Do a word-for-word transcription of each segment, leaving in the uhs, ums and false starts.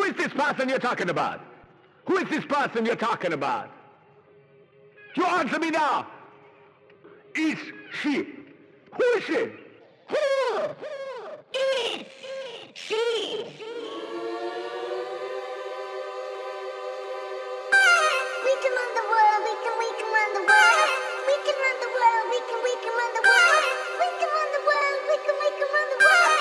is this person you're talking about? Who is this person you're talking about? You answer me now. Is she? Who is she? Who is she? We can run the world, we can, we can run the world. We can run the world, we can, we can run the world. We can run the world, we can, we can run the world.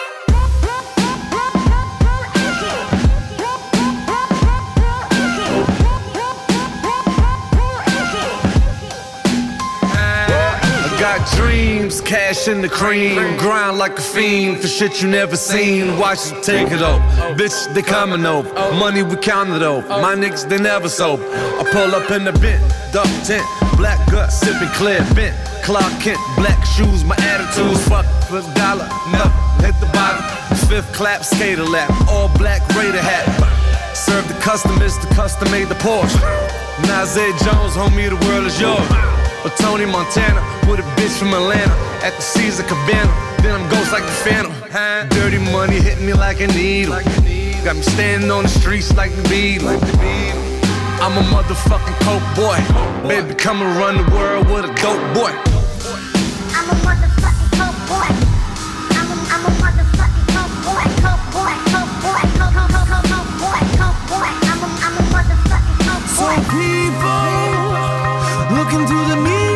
Got dreams, cash in the cream, grind like a fiend for shit you never seen. Watch you take it up, bitch, they coming over. Money we count it over, my niggas they never sober. I pull up in the bent, duck tent, black gut, sipping clear, bent. Clark Kent, black shoes, my attitude's fuck for a dollar, never hit the bottom. Fifth clap, skater lap, all black Raider hat. Serve the customers, the custom made the Porsche. Nazir Jones, homie, the world is yours. Or Tony Montana with a bitch from Atlanta at the Caesar Cabana. Then I'm ghost like the Phantom. Dirty money hit me like a needle. Got me standing on the streets like the Beatles. I'm a motherfucking coke boy. Baby, come and run the world with a dope boy. I'm a motherfucking coke boy. I'm a, I'm a motherfucking coke boy. Coke boy, coke boy, coke, coke, coke, coke, coke boy, coke boy. I'm a, I'm a motherfucking coke boy. Some people looking through the mirror.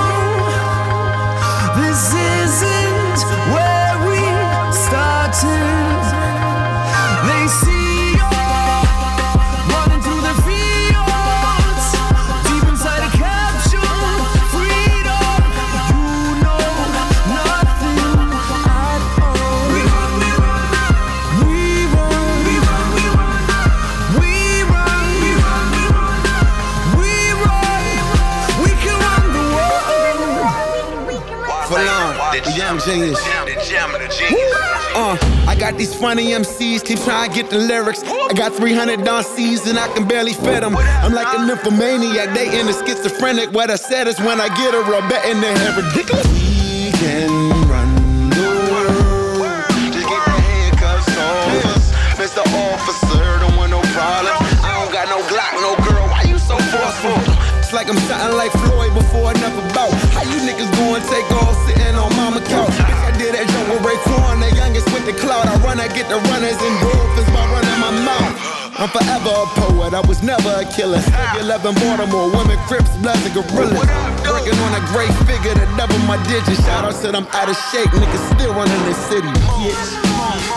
This isn't where we started. They see you running through the fields, deep inside a capsule. Freedom, you know nothing at all. We run, we run, we run, we run, we run, we run, we run, we run, we run. We can run the world. For long, the young genius. Uh, I got these funny M Cs, keep trying to get the lyrics. I got three hundred on C's and I can barely fit them. I'm like a nymphomaniac, they in the schizophrenic. What I said is when I get a rub in their head ridiculous. We can run the world. Just get the handcuffs on us. Mister Officer, don't want no problems. I don't got no Glock, no girl, why you so forceful? It's like I'm something like Floyd before another bout. How you niggas going take off sitting on mama couch? Bitch, I did that joke with Raekwon, the youngest with the clout. I run, I get the runners and dolphins by running my mouth. I'm forever a poet, I was never a killer. Still eleven Baltimore, women, Crips, Bloods, and Gorillas. Working on a great figure to double my digits. Shout out said I'm out of shape, niggas still running this city, bitch.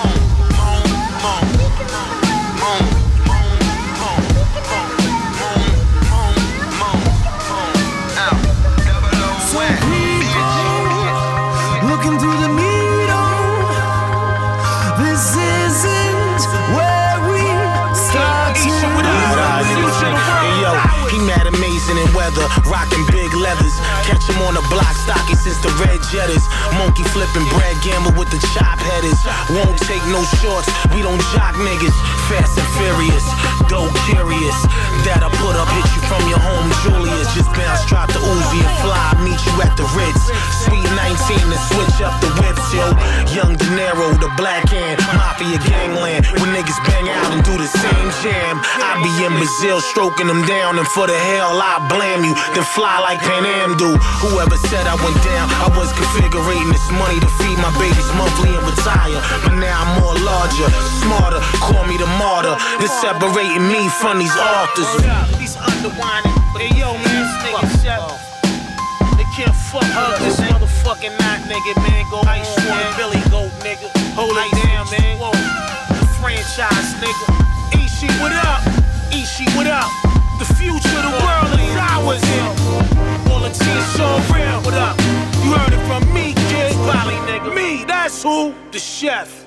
Looking through the needle, this isn't where we started. Hey yo, he mad amazing in weather, rocking big leathers. Catch him on the block, stocky since the red jetters. Monkey flipping, Brad Gamble with the chop headers. Won't take no shorts, we don't jock niggas. Fast and furious, dope curious. That I put up, hit you from your home, Julius. Just bounce, drop the Uzi and fly, meet you at the Ritz. Sweet nineteen to switch up the whips, yo. Young De Niro, the black hand, mafia gangland. When niggas bang out and do the same jam, I be in Brazil stroking them down, and for the hell I blame you. Then fly like Pan Am do. Whoever said I went down, I was configuring this money to feed my babies monthly and retire. But now I'm more larger, smarter. Call me the martyr. It's separating me from these authors. These underwinding, hey yo man, this nigga shut up. They can't fuck up this motherfucking night, nigga, man. Go Ice One, Billy Goat, nigga. Hold it down, man. Whoa, the franchise, nigga. Ishi, what up? Ishi, what up? The future of the world is ours here. All the team so real, what up? You heard it from me, kid. Valley, nigga. Me, that's who? The chef.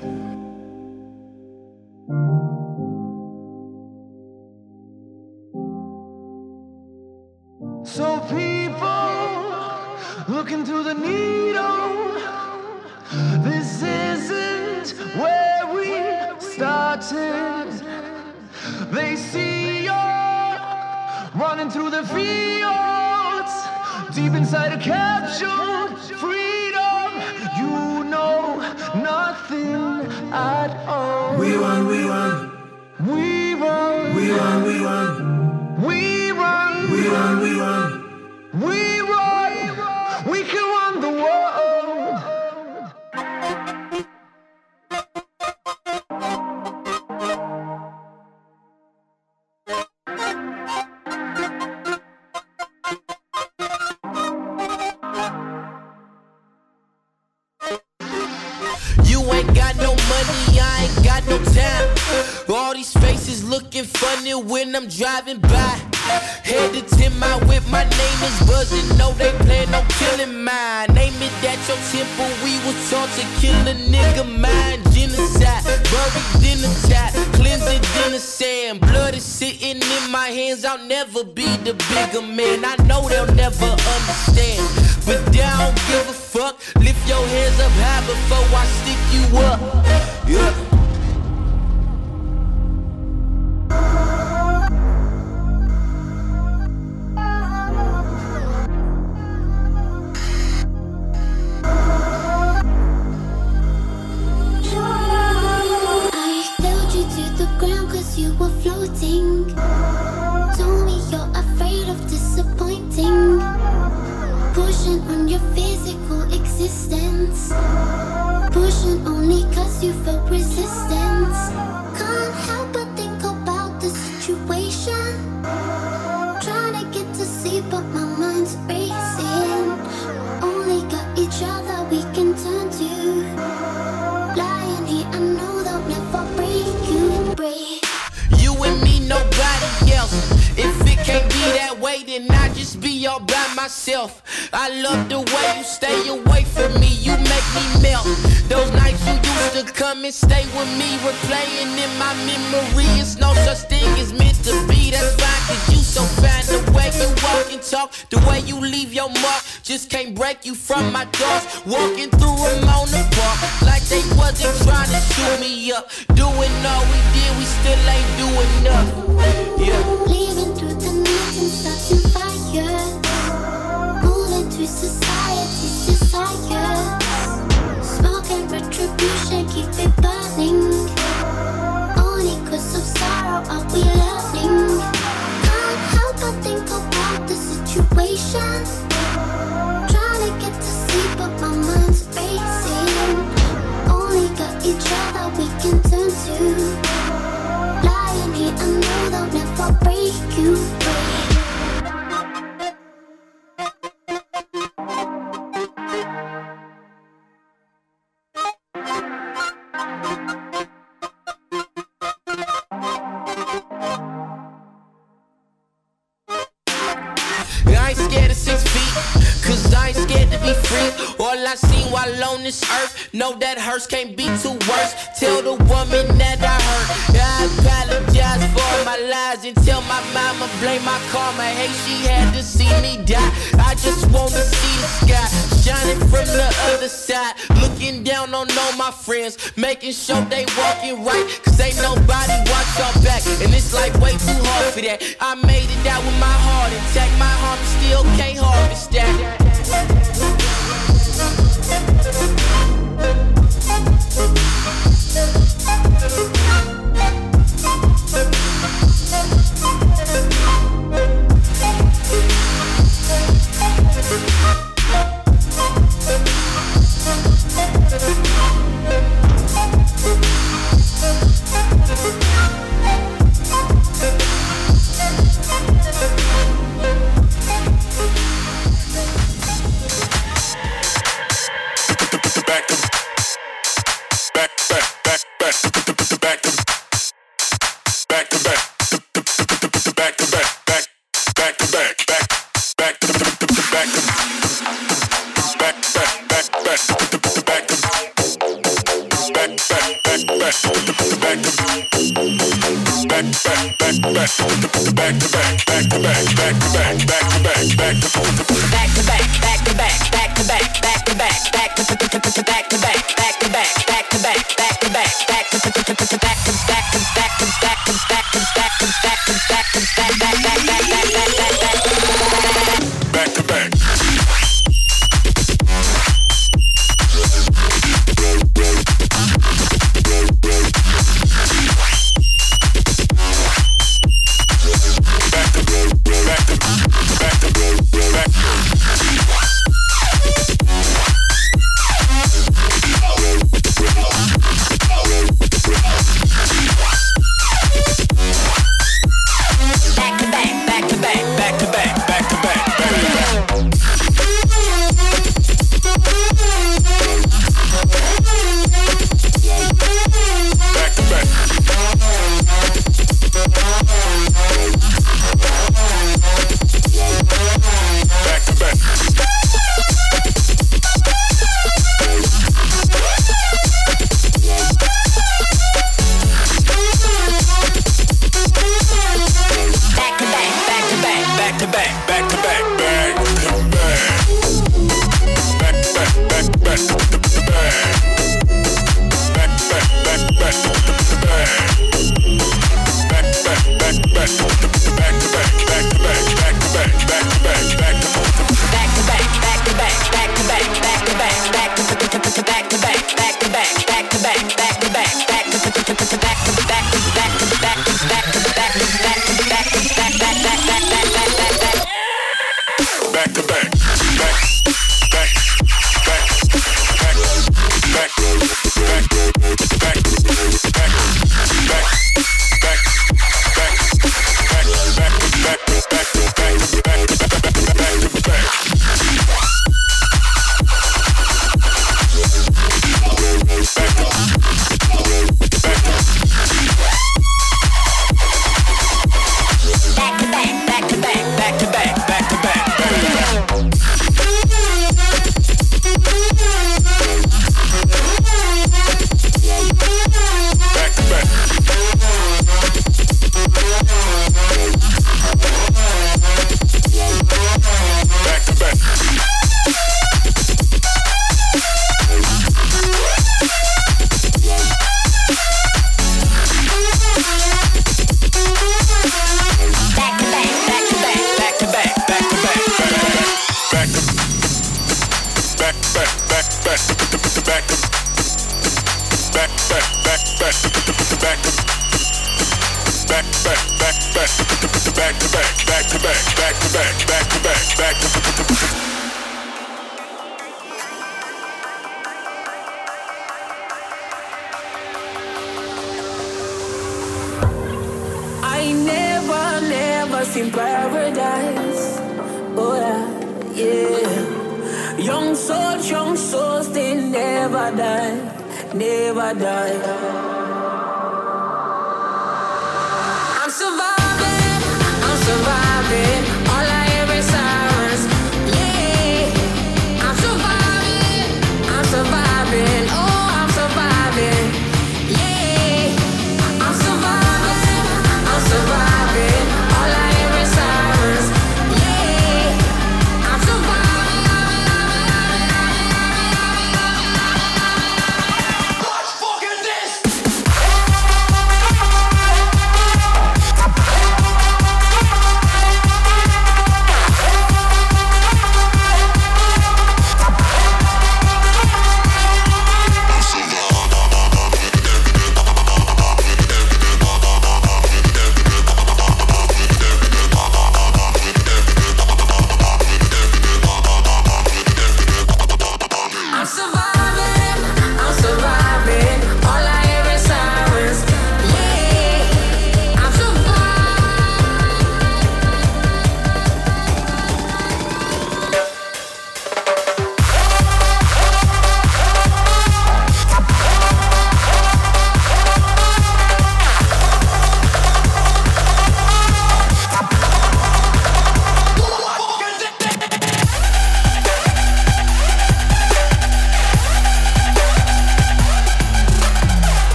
So people looking through the needle, this isn't where we started. They see you running through the fields, deep inside a capsule. Freedom, you know nothing at all. We run, we run, we run. run, we run. We run. We run, we run. We run. We can run the world. You ain't got no money, I ain't got no time. All these faces looking funny when I'm driving by. Headed to my whip, my name is buzzing. No, they plan on killing mine. Name it at your temple, we was taught to kill a nigga mind. Genocide, buried in a tap, cleanse it in the sand. Blood is sitting in my hands, I'll never be the bigger man. I know they'll never understand, but I don't give a fuck. Lift your hands up high before I stick you up. Yeah. You were floating. Told me you're afraid of disappointing. Pushing on your physical existence. Pushing only cause you felt resistance. Can't help but think about the situation. Trying to get to sleep but my mind's racing. Only got each other we can turn to. Lying here I know they'll never break you, break. You and me, nobody else. If it can't be that way, then I just be all by myself. I love the way you stay away from me, you make me melt. Those nights you used to come and stay with me, replaying in my memory. It's no such thing as meant to be, that's fine, cause you so fine. The way you walk and talk, the way you leave your mark, just can't break you from my thoughts. Walking through them on the park, like they wasn't trying to shoot me up. Doing all we did, we still ain't doing nothing. Yeah. Leaving through the night and starting fires. Moving to society's desires. Smoke and retribution, keep it burning. Only cause of sorrow are we learning. Can't help but think about the situation. Trying to get to sleep but my mind's racing. Only got each other we can turn to. Lying here, I know they'll never break you, break. I ain't scared of six feet, cause I ain't scared to be free. All I seen while on this earth, know that hurts can't be too worse. Tell the woman that I hurt, I apologize for my lies. And tell my mama, blame my karma, hey she had to see me die. I just wanna see the sky, shining from the other side. Looking down on all my friends, making sure they walking right, cause ain't nobody watch our back. And it's like way too hard for that. I made it out with my heart intact, my heart still can't harvest that.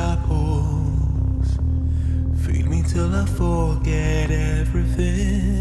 pulse. Feed me till I forget everything.